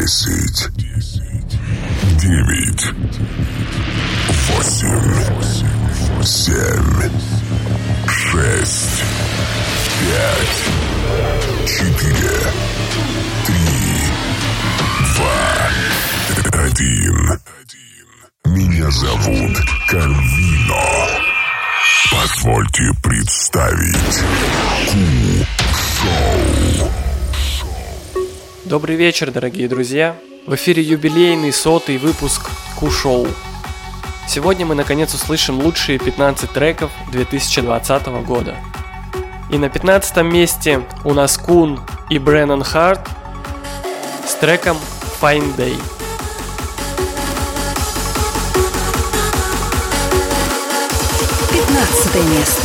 10, 9, 8, 7, 6, 5, 4, 3, 2, 1. Меня зовут Карвино. Позвольте представить Ку-шоу. Добрый вечер, дорогие друзья! В эфире юбилейный 100-й выпуск Ку-шоу. Сегодня мы наконец услышим лучшие 15 треков 2020 года. И на 15 месте у нас Кун и Бреннан Харт с треком Fine Day. 15 место.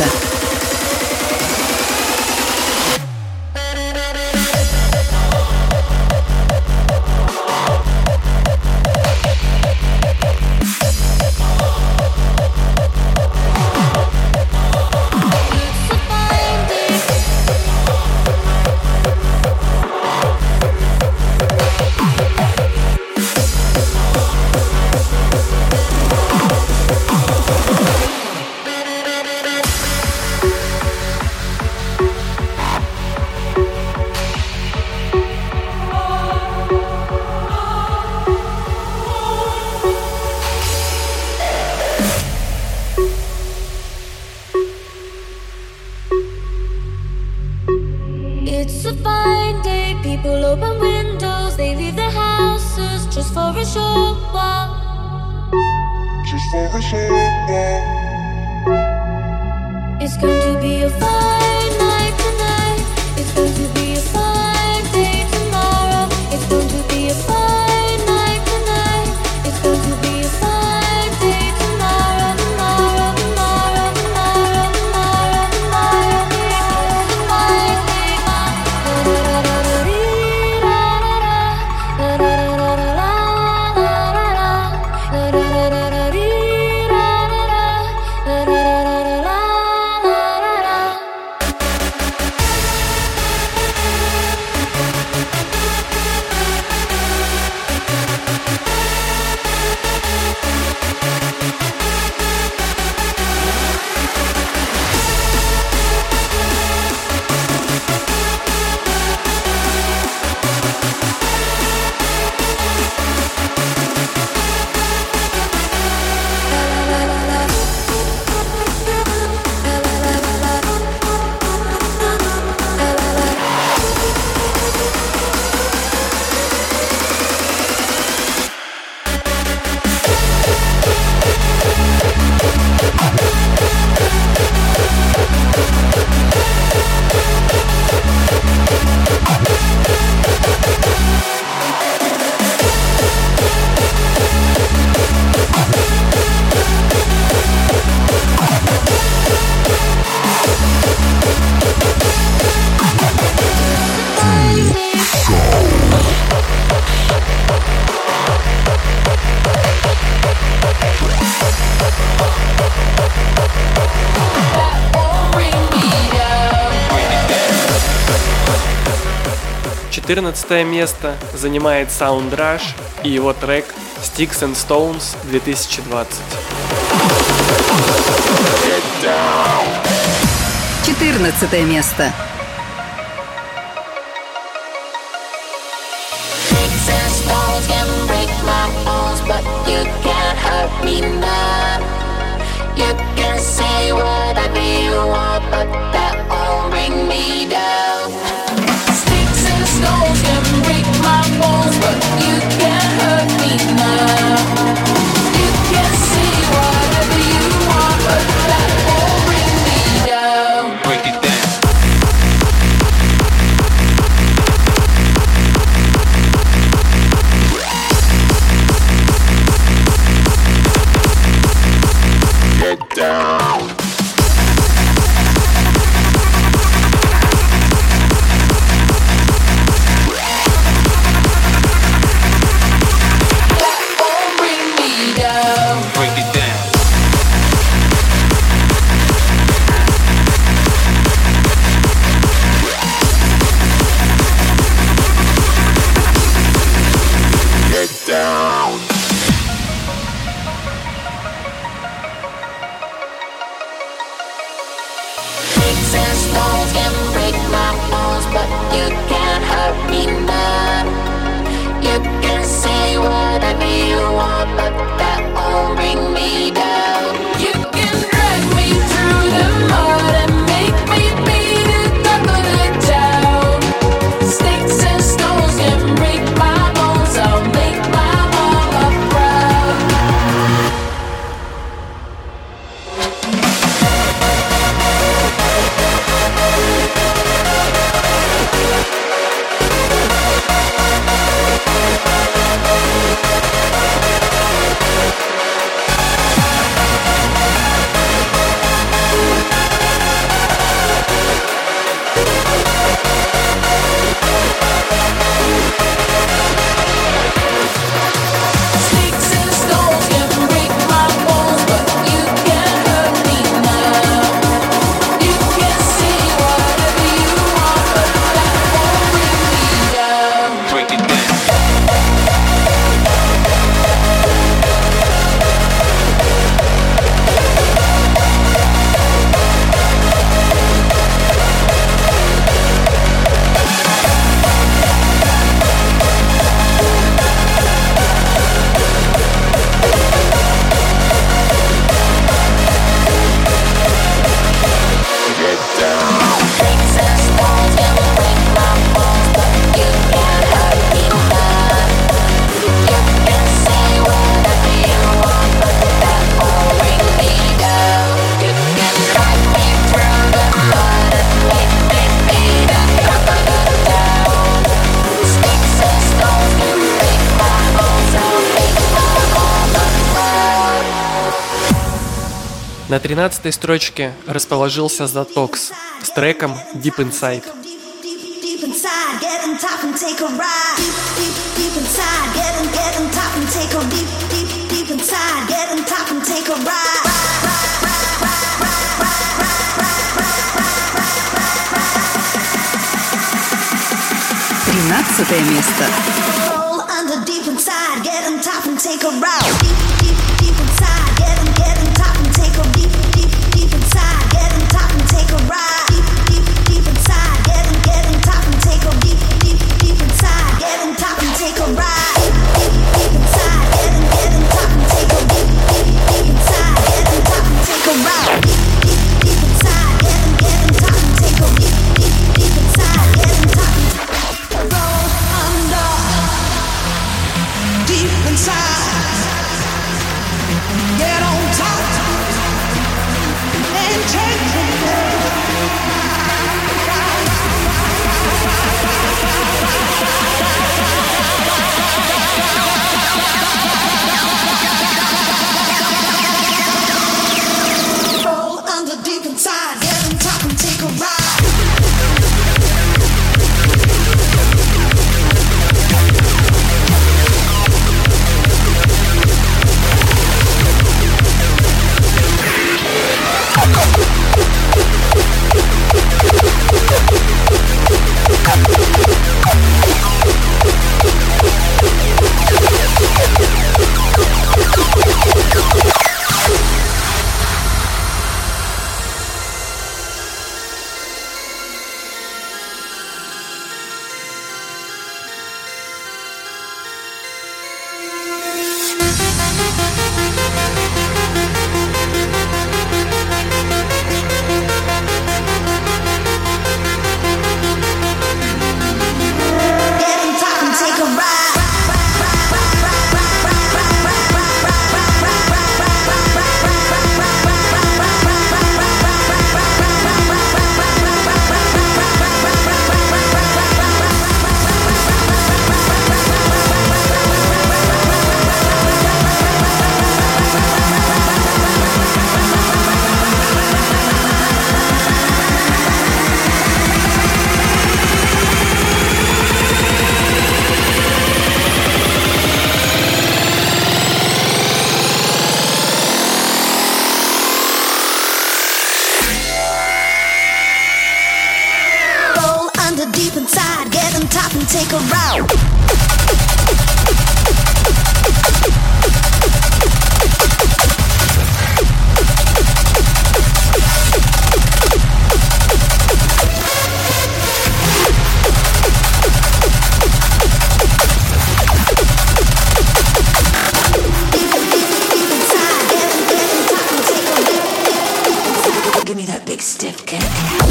It's a fine day, people open windows, they leave their houses just for a short while. Just for a short while. It's going to be a fine night tonight. It's going to be a fine day tomorrow. It's going to be a fine night tonight. It's going to be a fine day tomorrow, tomorrow, tomorrow, tomorrow, tomorrow, tomorrow. It's a fine day. Четырнадцатое место занимает Sound Rush и его трек Sticks and Stones 2020. 14 место. Stones can break my bones, but you can't hurt me now. You can say whatever you want, but that won't bring me down. Break it down. Get down. На 13-й строчке расположился The Tox с треком Deep Inside. Deep inside, get on top and take a ride. Deep inside, get on top and take a deep inside, get on top and take a ride. 13 место. Roll under deep inside, get on top and take a ride. Deep inside, get on top and take a deep inside, get on top and take a ride. Deep inside, get on top and take a deep inside, get on top and take a ride. Deep inside, get on top and take a deep inside, get on top and take a ride. Deep inside, get on top and take a deep inside, get on top and roll under deep inside. Get on top and take the roll under deep inside. Get on top and take a ride. Deep inside, get on top and take a route. Give me that big stiff kick.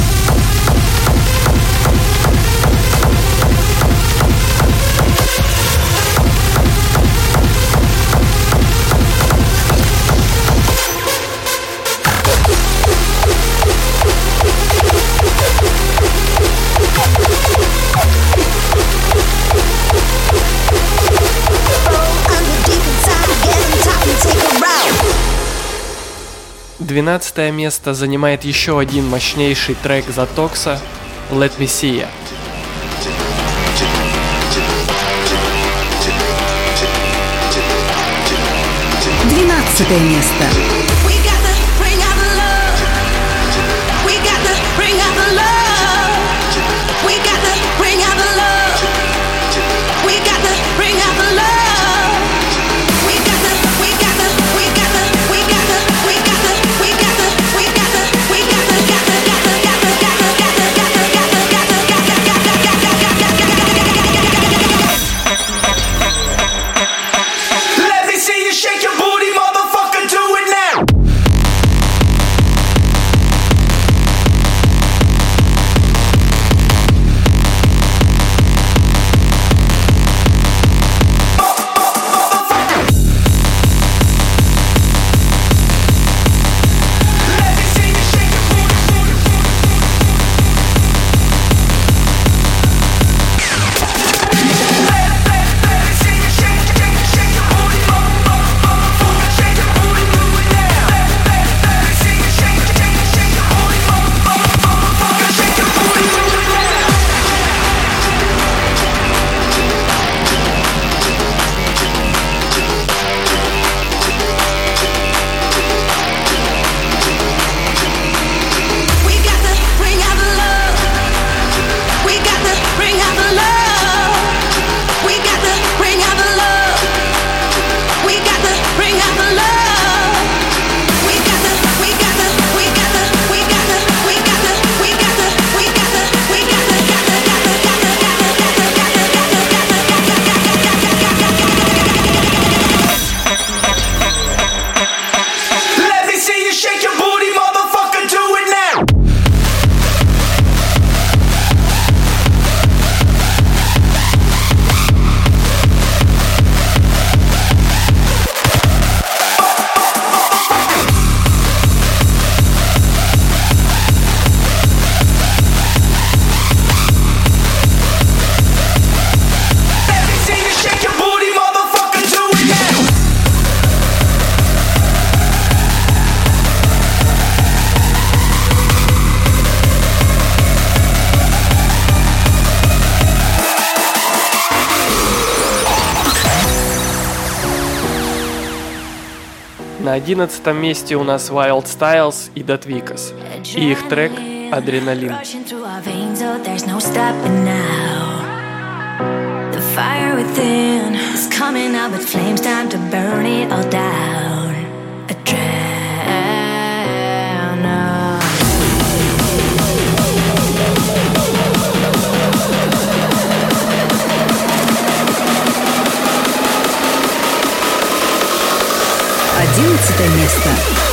Двенадцатое место занимает еще один мощнейший трек The Tox Let Me See Ya. 12 место. Shake your booty, motherfucker, do it now. На 11 месте у нас Wild Styles и Datvikas и их трек «Адреналин». The fire within is coming out with flames, time to burn it all down. Adrenaline. 11 место.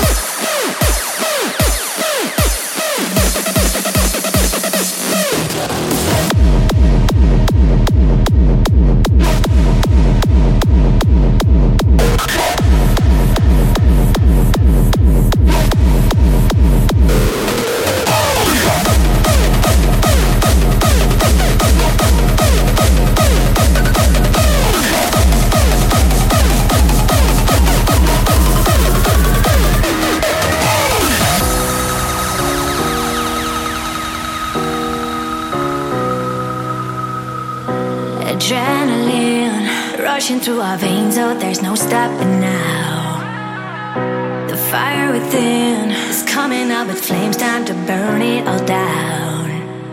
Adrenaline rushing through our veins, oh, there's no stopping now. The fire within is coming up with flames, time to burn it all down.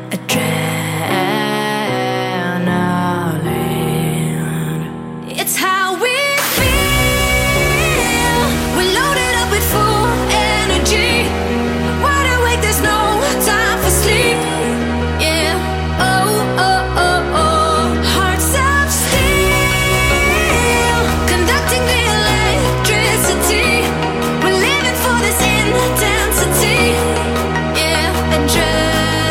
Adrenaline. It's how we feel. We're loaded up with full energy. Wide awake, there's no time for sleep. Yeah. Oh, oh, oh, oh. Hearts of steel, conducting the electricity. We're living for this intensity. Yeah. Adrenaline.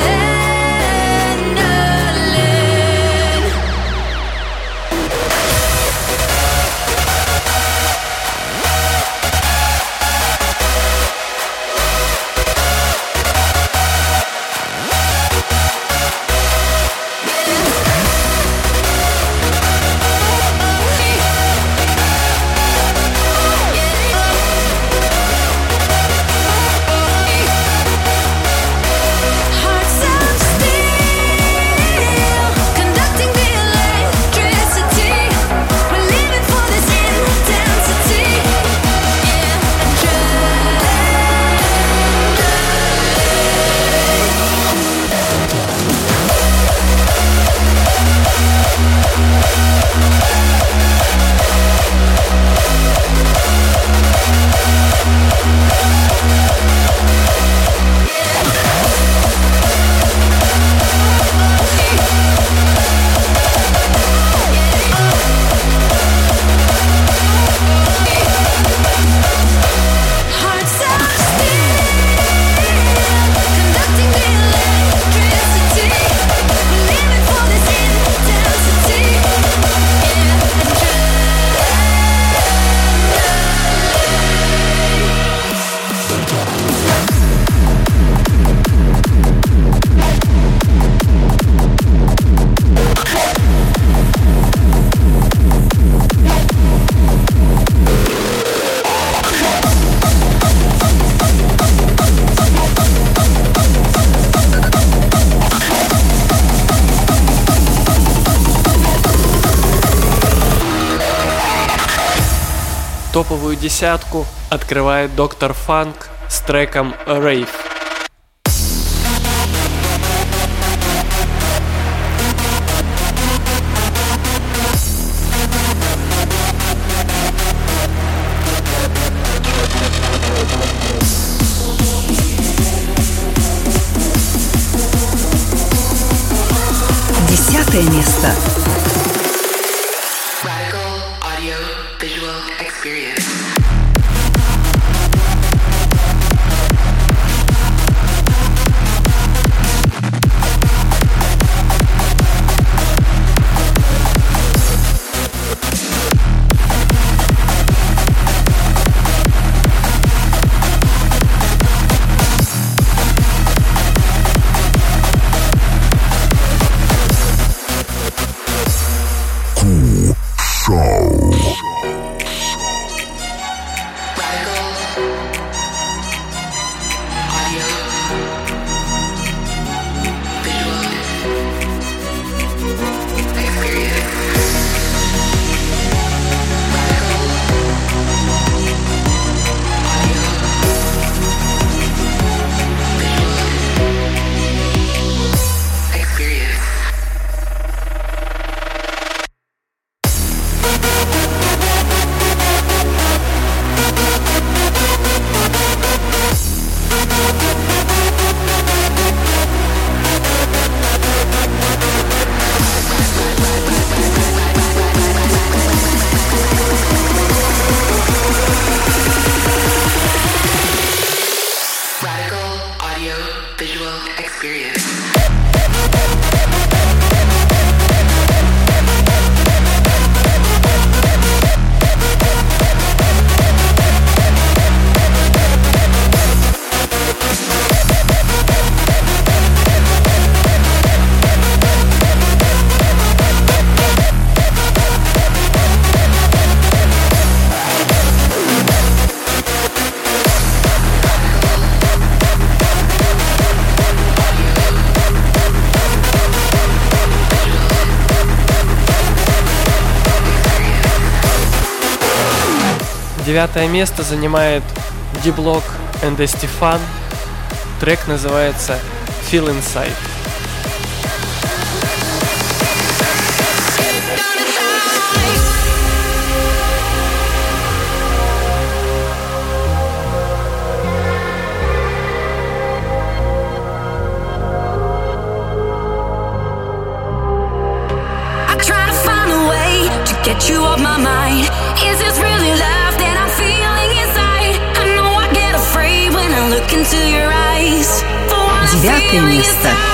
Hearts of steel, conducting the electricity. We're living for this intensity. Yeah, hearts of steel, conducting the electricity. We're living for this intensity. Топовую десятку открывает Доктор Фанк с треком «Rave». Десятое место. Radical audio visual experience. Шоу. Radical audio visual experience. Radical 9 место занимает D-Block and Estefan. Трек называется Feel Inside. Get you off my mind. Is this really love that I'm feeling inside? I know I get afraid when I look into your eyes. For what I'm 9 feeling место. inside.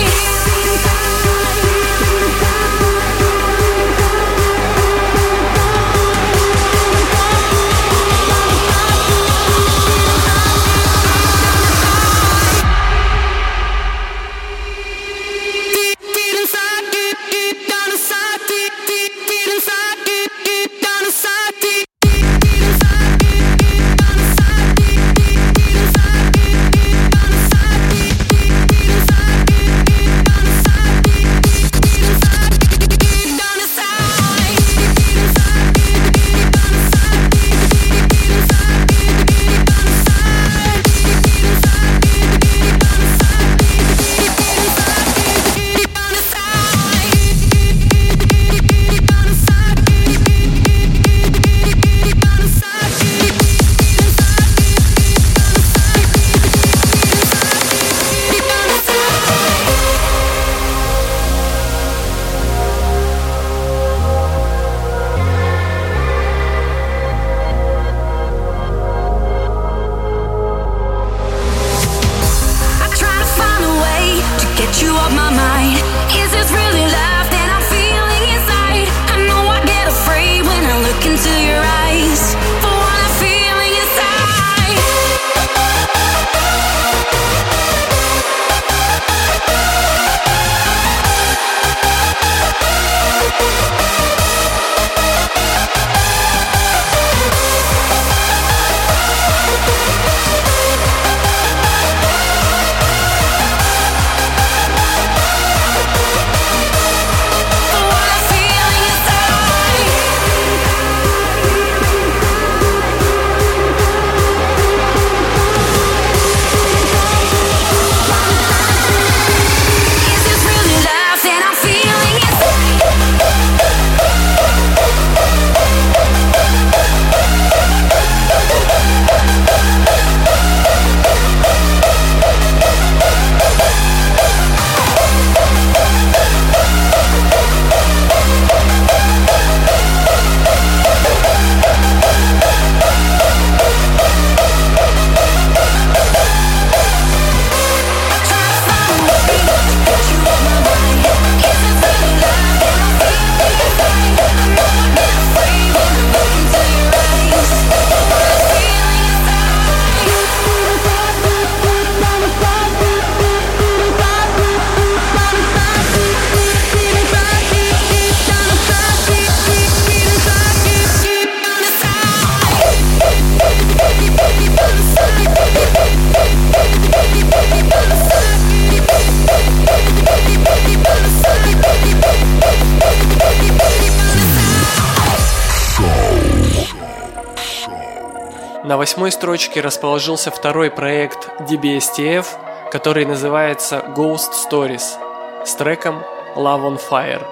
На 8-й строчке расположился второй проект DBSTF, который называется Ghost Stories с треком Love on Fire.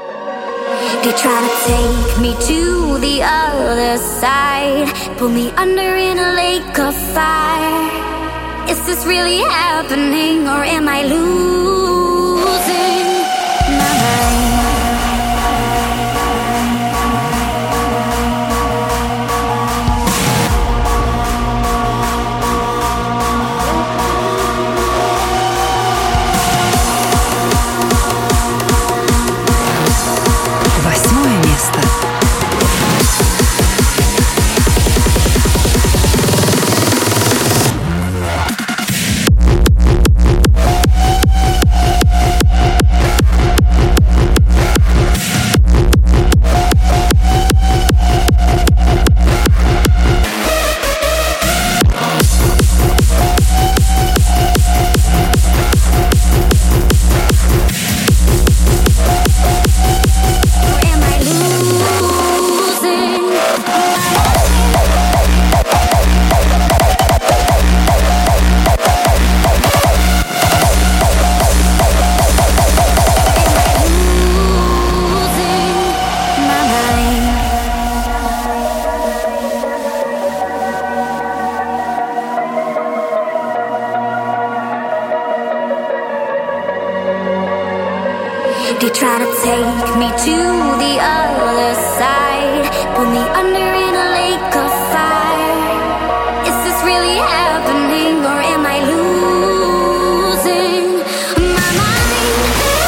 They try to take me to the other side, pull me under in a lake of fire. Is this really happening or am I losing my mind? take me to the other side. Pull me under in a lake of fire. Is this really happening or am I losing my mind?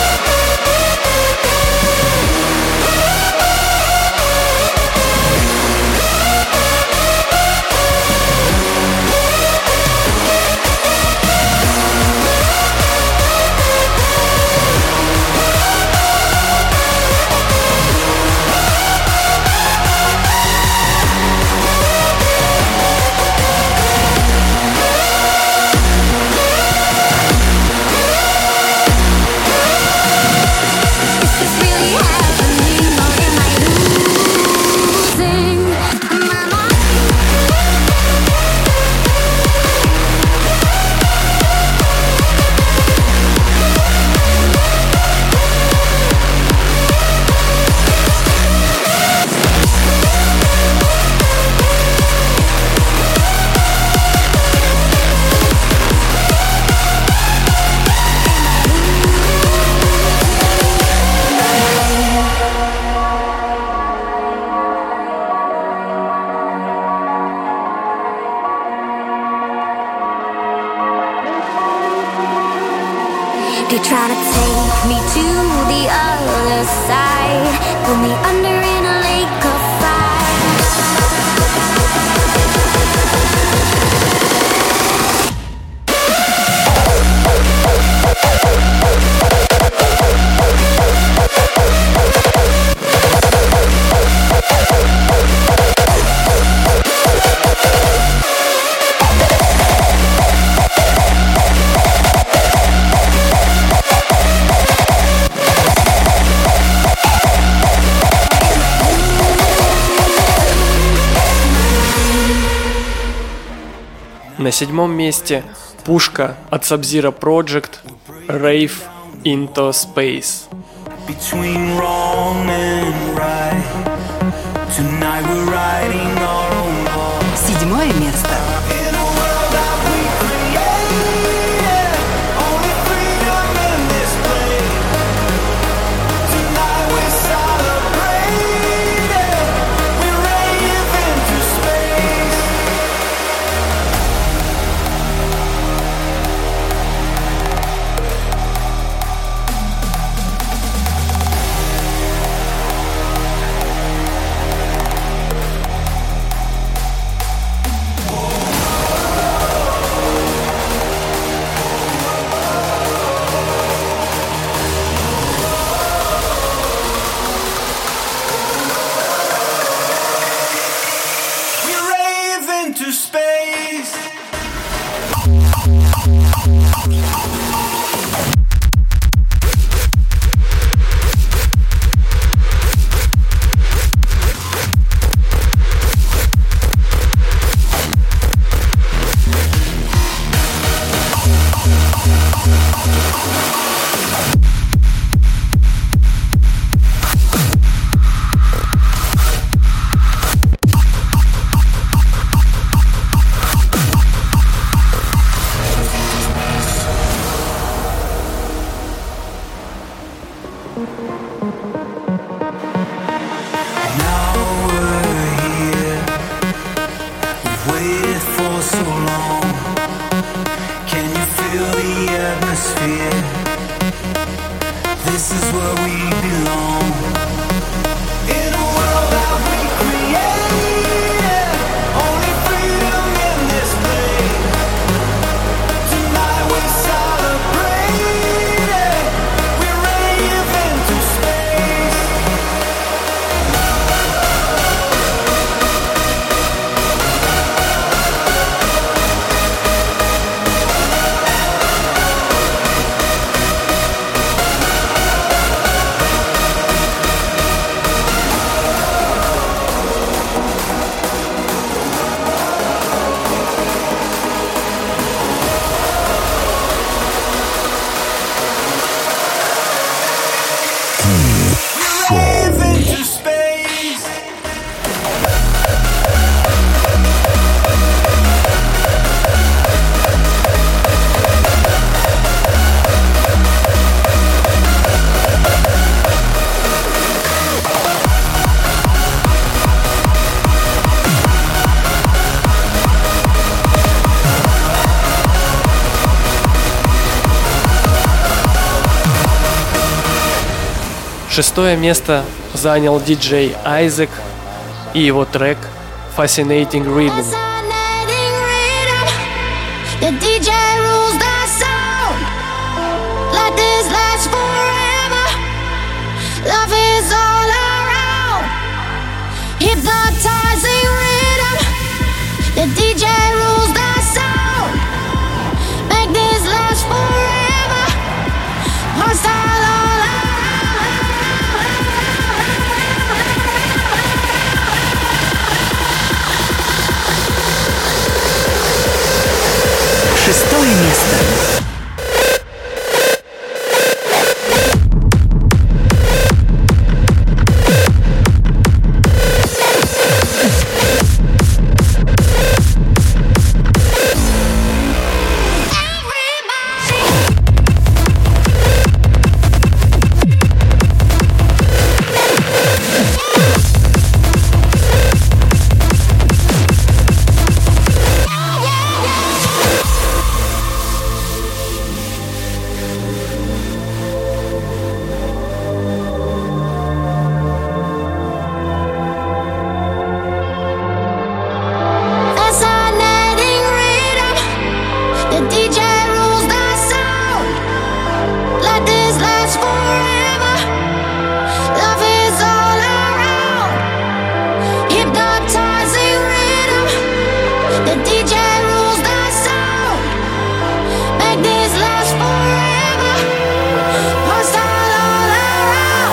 They try to take me to the other side. Pull me under in a lake of fire. На 7-м месте пушка от Sub-Zero Project Rave Into Space. Between wrong and right. Tonight we're riding our own ball. 7 место. In a world that we created, only freedom in this place. Tonight we're celebrating. We rave into space. 6 место занял диджей Isaac и его трек Fascinating Rhythm. Fascinating rhythm. The DJ rules the sound. Let this last forever. Love is all around. Hypnotizing rhythm. The DJ rules the sound. Make this last forever. Hostile all around. 6 место. Fascinating rhythm. The DJ rules the sound. Let this last forever. Love is all around. Hypnotizing rhythm. The DJ rules the sound. Make this last forever. Hostile all around.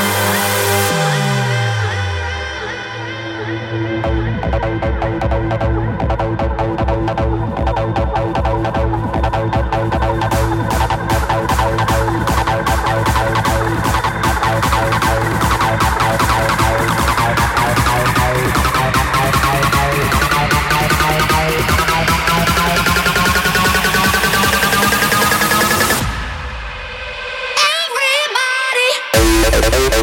Everybody.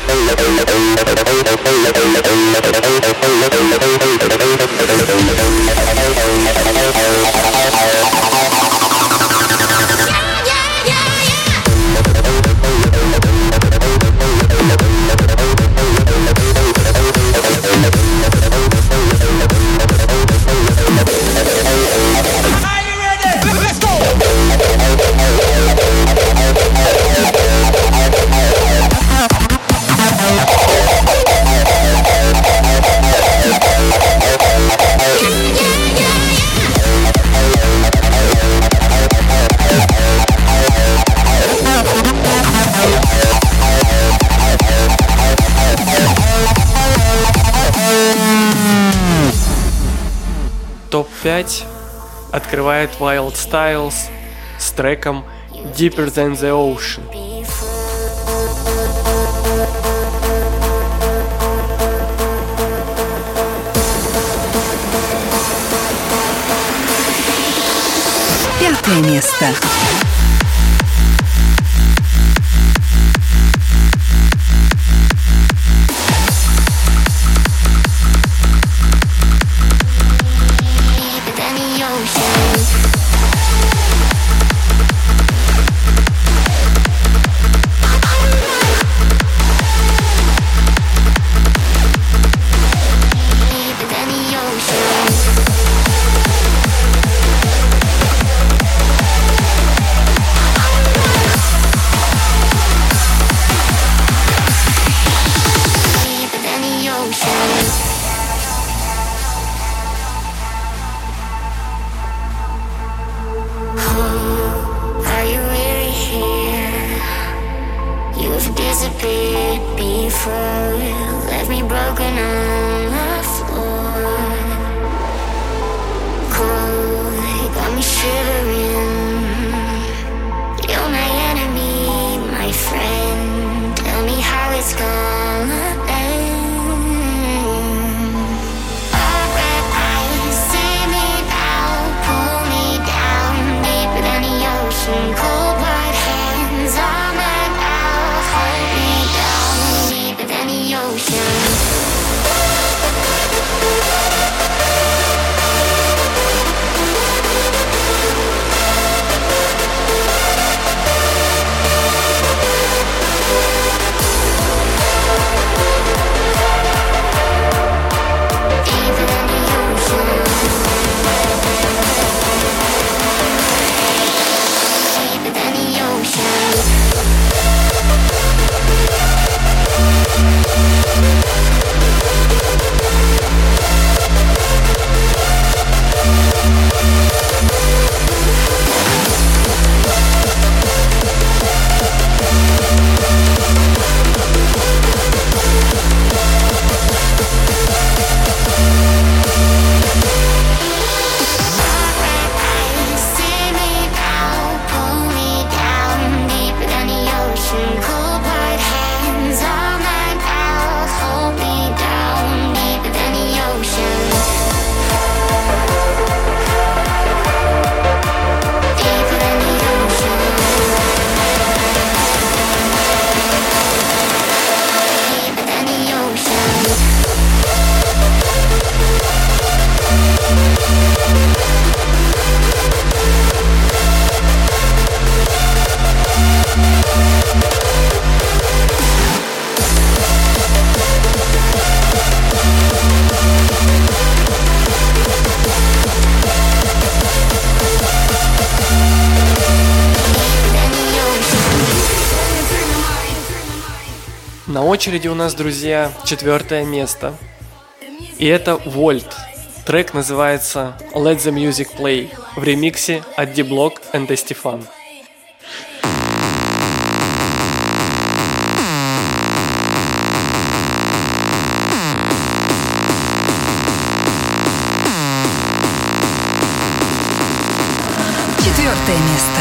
Топ-5 открывает Wild Styles с треком Deeper Than The Ocean. Пятое место. Ocean. На очереди у нас, друзья, 4 место. И это Volt. Трек называется Let the Music Play в ремиксе от D-Block and Estefan. Четвертое место.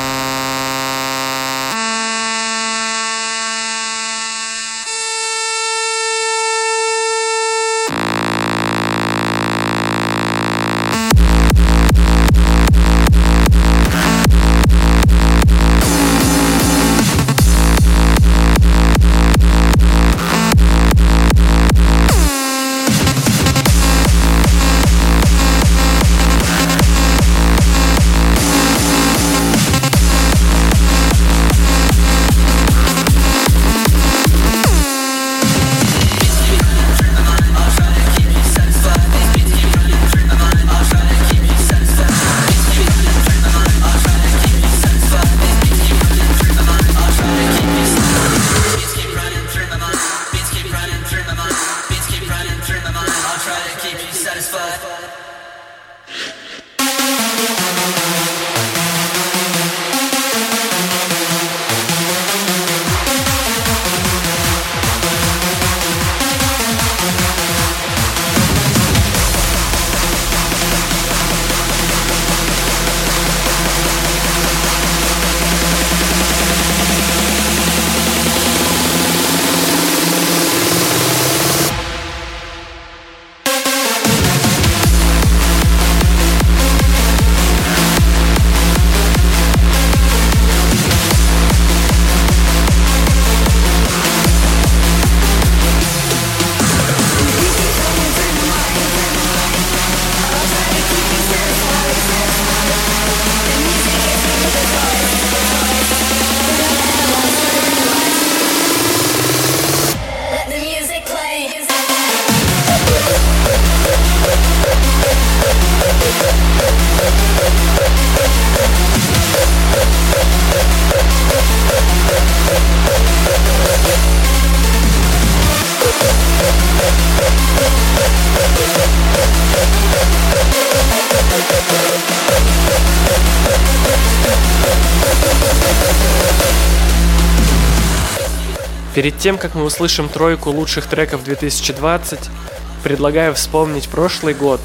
Перед тем, как мы услышим тройку лучших треков 2020, предлагаю вспомнить прошлый год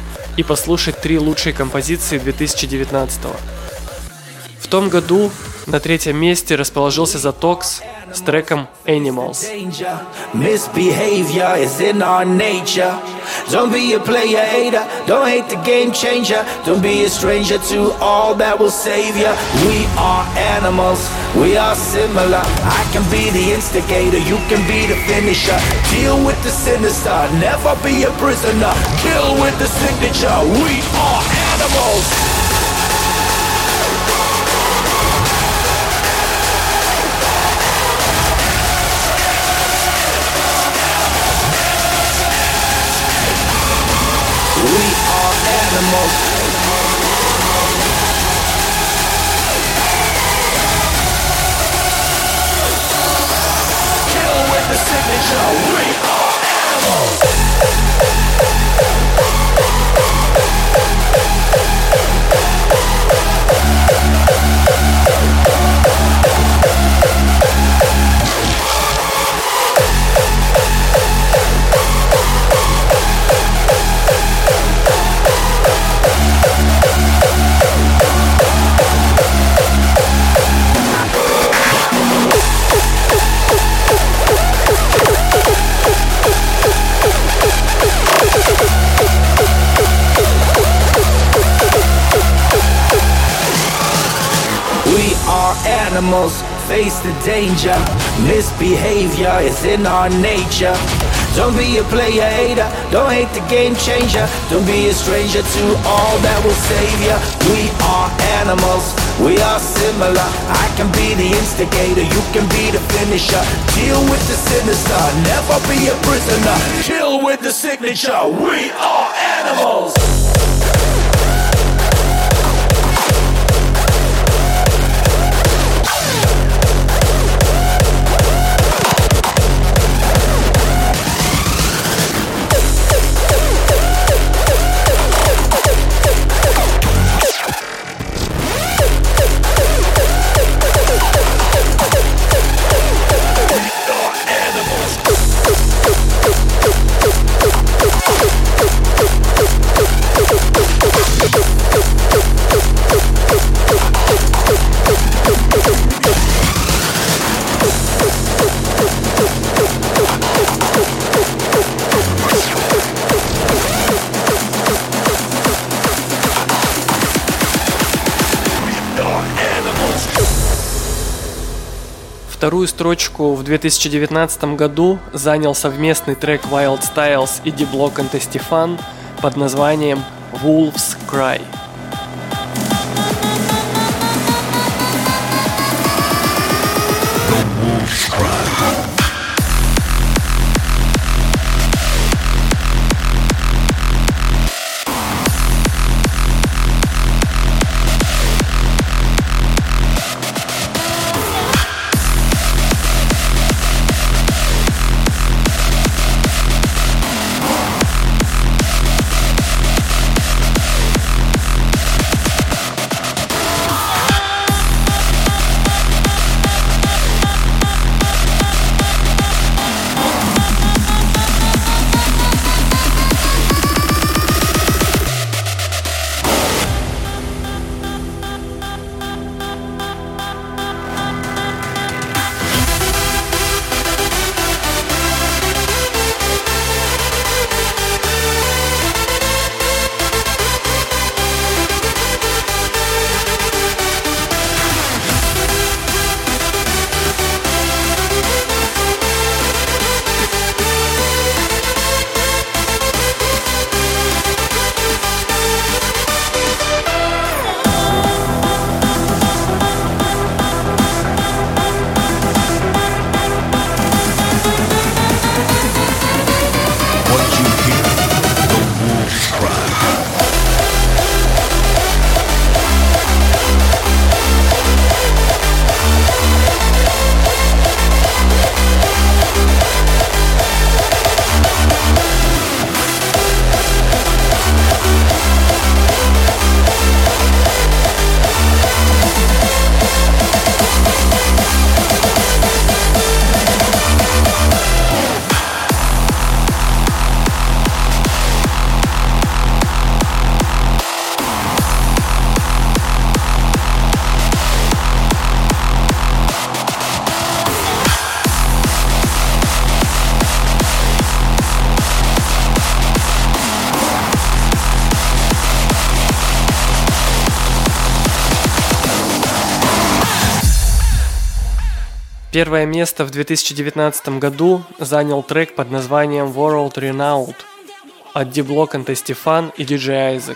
и послушать 3 лучшие композиции 2019. В том году на 3-м месте расположился The Tox с треком Animals. Misbehavior is in our nature. Don't be a player hater, don't hate the game changer. Don't be a stranger to all that will save you. We are animals, we are similar. I can be the instigator, you can be the finisher. Deal with the sinister, never be a prisoner. Kill with the signature, we are animals. We are animals. Kill with the signature. We are animals. Animals face the danger. Misbehavior is in our nature. Don't be a player hater, don't hate the game changer. Don't be a stranger to all that will save you. We are animals, we are similar. I can be the instigator, you can be the finisher. Deal with the sinister, never be a prisoner. Kill with the signature, we are animals. Вторую строчку в 2019 году занял совместный трек Wild Styles и D-Block and Estefan под названием Wolves Cry. Первое место в 2019 году занял трек под названием World Renowned от D-Block and Estefan и DJ Isaac.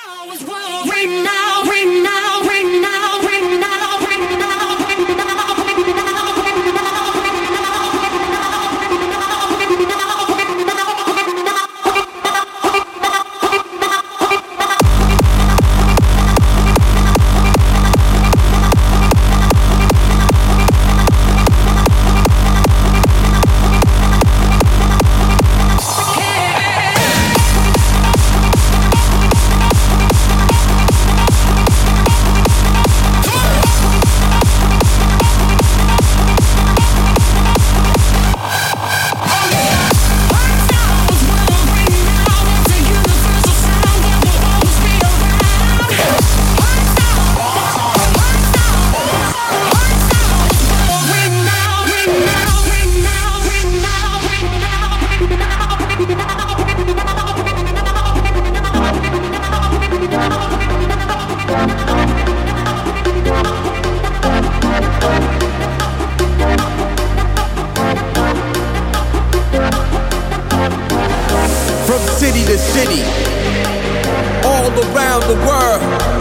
city, all around the world.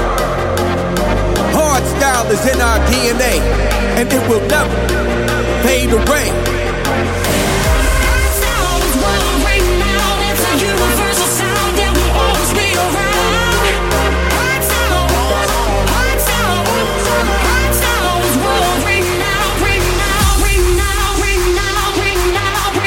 Hardstyle is in our DNA, and it will never fade away. Hardstyle is world renowned. It's a universal sound that will always be around. Hardstyle is world renowned, renowned, renowned, renowned, renowned,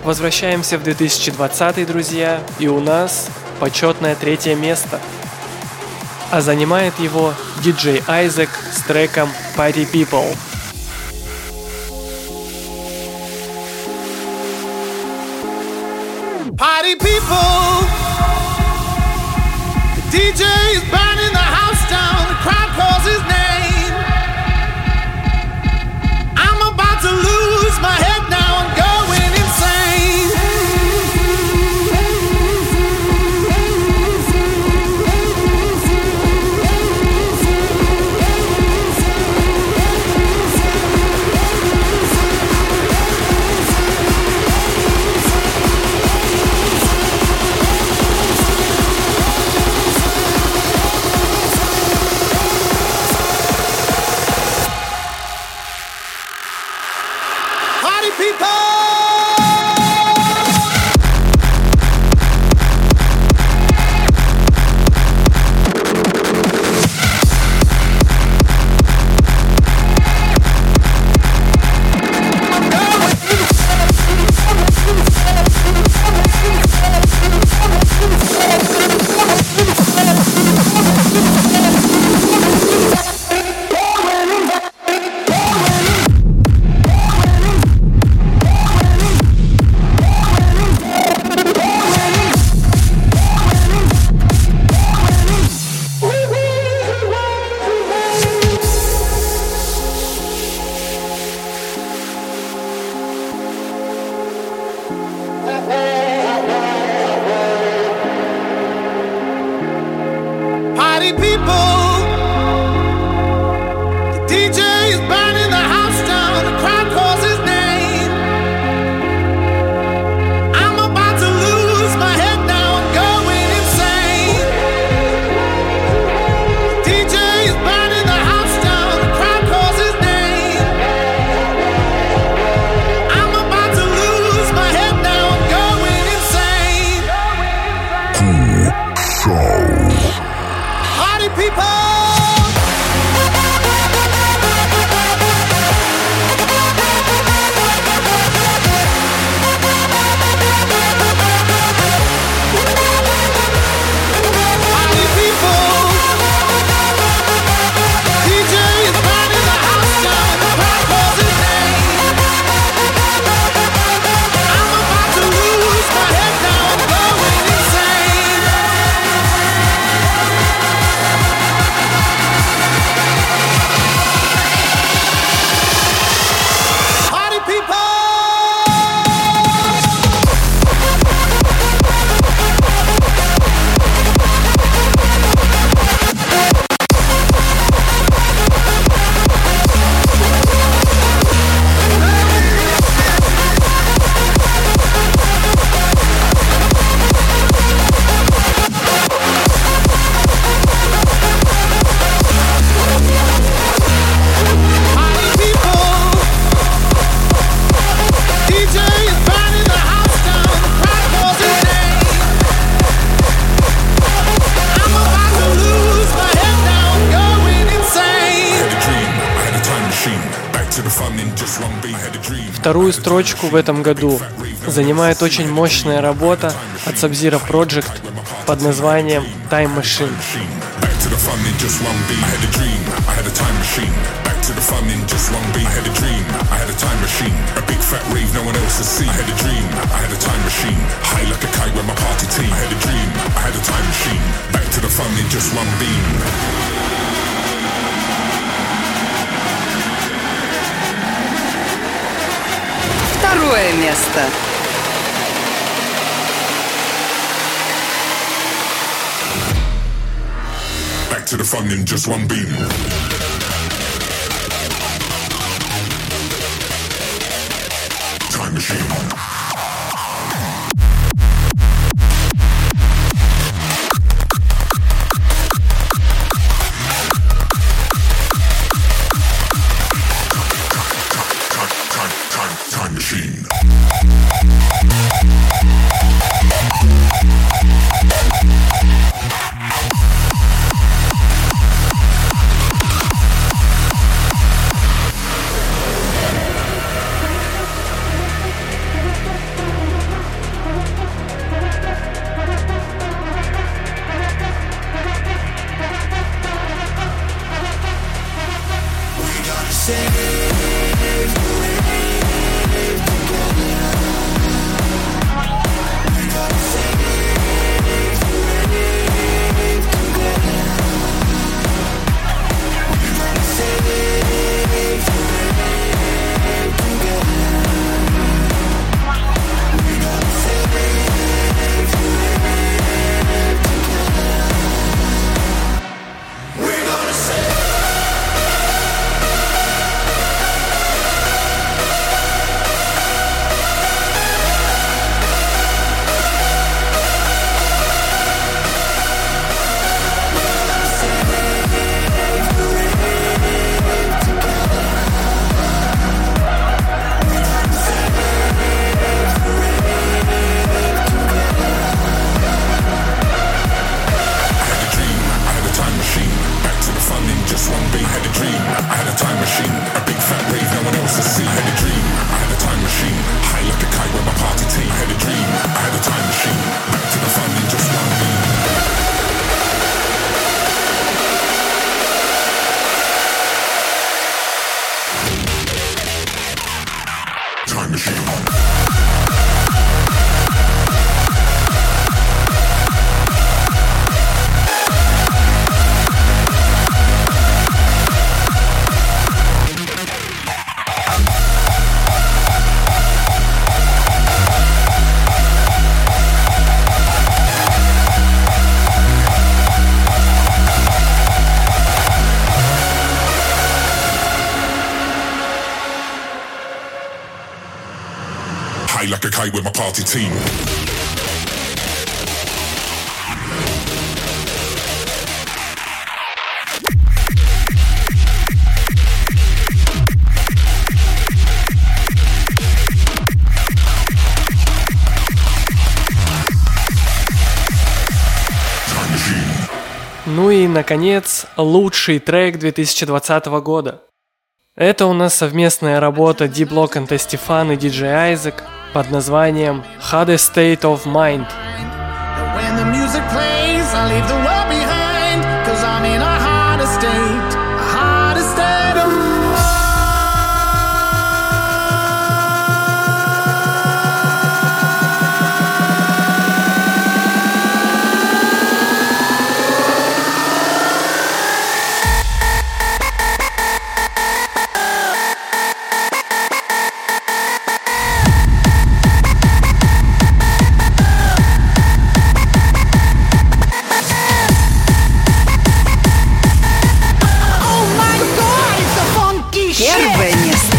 Возвращаемся в 2020, друзья, и у нас почетное 3 место. А занимает его DJ Isaac с треком Party People. Party people, the DJ is burning the house down, the crowd calls his name. I'm about to lose my head now, I'm going insane. Party people, the DJ is burning the house down, the crowd calls his name. I'm about to lose my head now, I'm going insane. The DJ is burning the house down, the crowd calls his name. I'm about to lose my head now, I'm going insane. Show. Party people! Вторую строчку в этом году занимает очень мощная работа от Sub-Zero Project под названием Time Machine. To the fun in just one beat. I had a dream, I had a time machine. A big fat rave no one else has seen. I had a dream, I had a time machine. High like a kite with my party team. I had a dream, I had a time machine. Back to the fun in just one beam. Второе место. Back to the fun in just one beam. Time machine. Time machine. high like a kite with my party team. Ну и, наконец, лучший трек 2020 года. Это у нас совместная работа D-Block and Testifan и DJ Isaac под названием Hardest State of Mind. When the music plays, I leave the world behind, 'cause I'm in a harder state of mind. Первое место.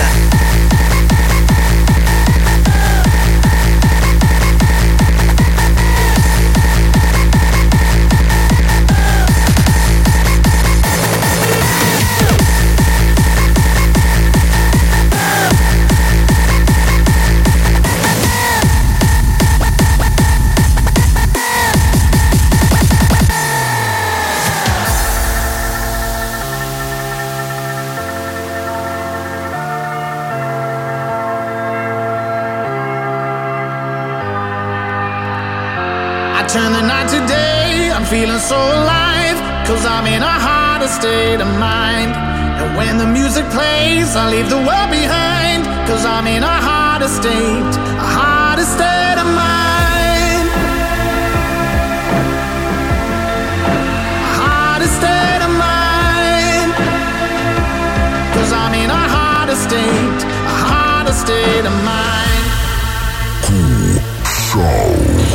Turn the night to day, I'm feeling so alive, 'cause I'm in a harder state of mind. And when the music plays, I leave the world behind, 'cause I'm in a harder state of mind. A harder state of mind, 'cause I'm in a harder state of mind. Cool Show.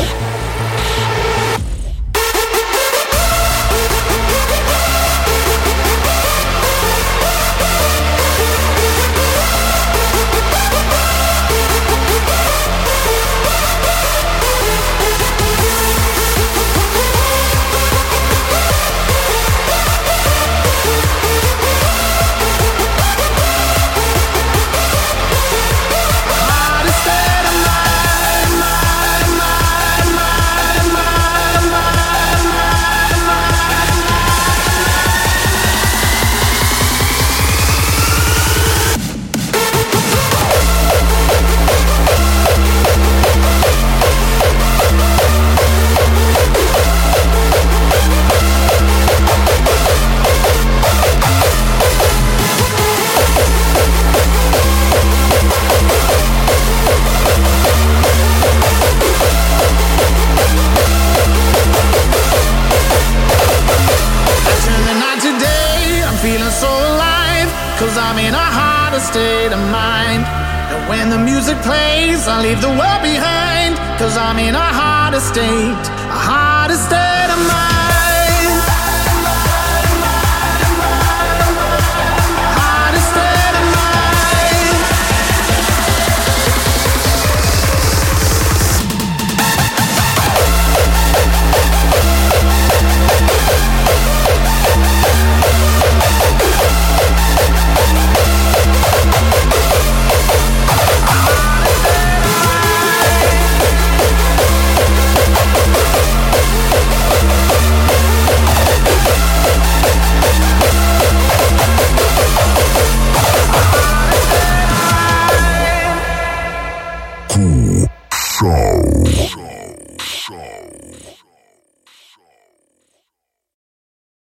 When the music plays, I leave the world behind, 'cause I'm in a harder state